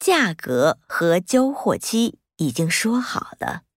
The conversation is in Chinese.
价格和交货期已经说好了。